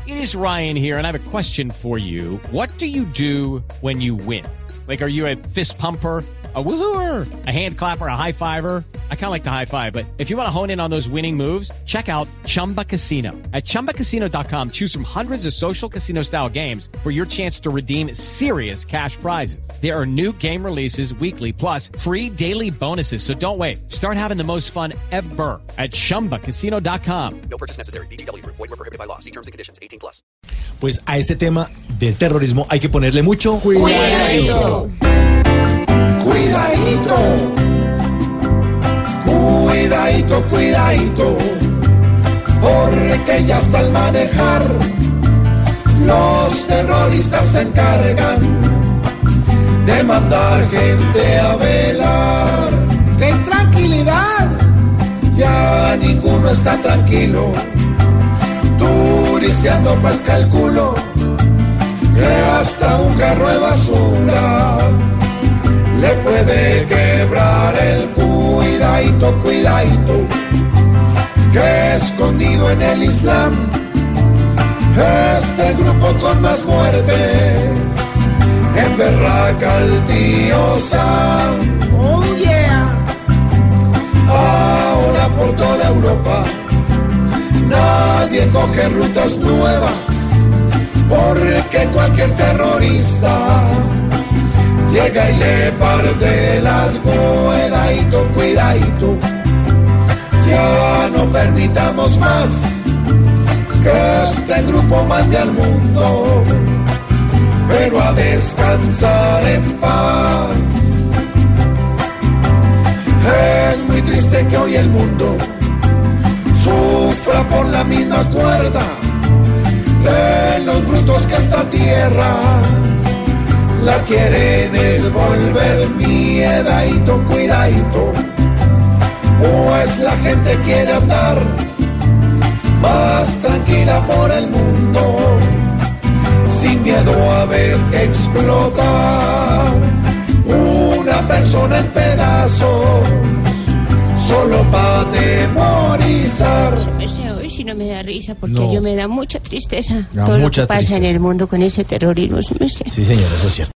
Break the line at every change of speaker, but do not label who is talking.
It is Ryan here, and I have a question for you. What do you do when you win? Like, are you a fist pumper, a woohooer, a hand clapper, a high fiver? I kind of like the high five, but if you want to hone in on those winning moves, check out Chumba Casino. At ChumbaCasino.com, choose from hundreds of social casino-style games for your chance to redeem serious cash prizes. There are new game releases weekly, plus free daily bonuses, so don't wait. Start having the most fun ever at ChumbaCasino.com.
No purchase necessary. VGW Group. Void where prohibited by law. See terms and conditions. 18+.
Pues a este tema del terrorismo hay que ponerle mucho
Cuidadito.
Cuidadito, cuidadito, cuidadito, porque ya hasta al manejar los terroristas se encargan de mandar gente a velar. ¡Qué tranquilidad! Ya ninguno está tranquilo, turisteando pues calculo que hasta un carro de basura le puede quebrar el cuidadito, cuidadito, que escondido en el Islam, este grupo con más muertes, emberraca al tío Sam. Oh yeah. Ahora por toda Europa nadie coge rutas nuevas, porque cualquier terrorista llega y le parte las cuidadito, cuidadito. Ya no permitamos más que este grupo mande al mundo, pero a descansar en paz. Es muy triste que hoy el mundo sufra por la misma cuerda de los brutos que esta tierra la quieren es volver miedadito, cuidadito, pues la gente quiere andar más tranquila por el mundo, sin miedo a ver explotar una persona en pedazos, solo para atemorizar.
Hoy sí no me da risa, porque yo me da mucha tristeza.
Da
todo lo
mucha
que pasa
tristeza
en el mundo con ese terrorismo.
Sí, señor, eso es cierto.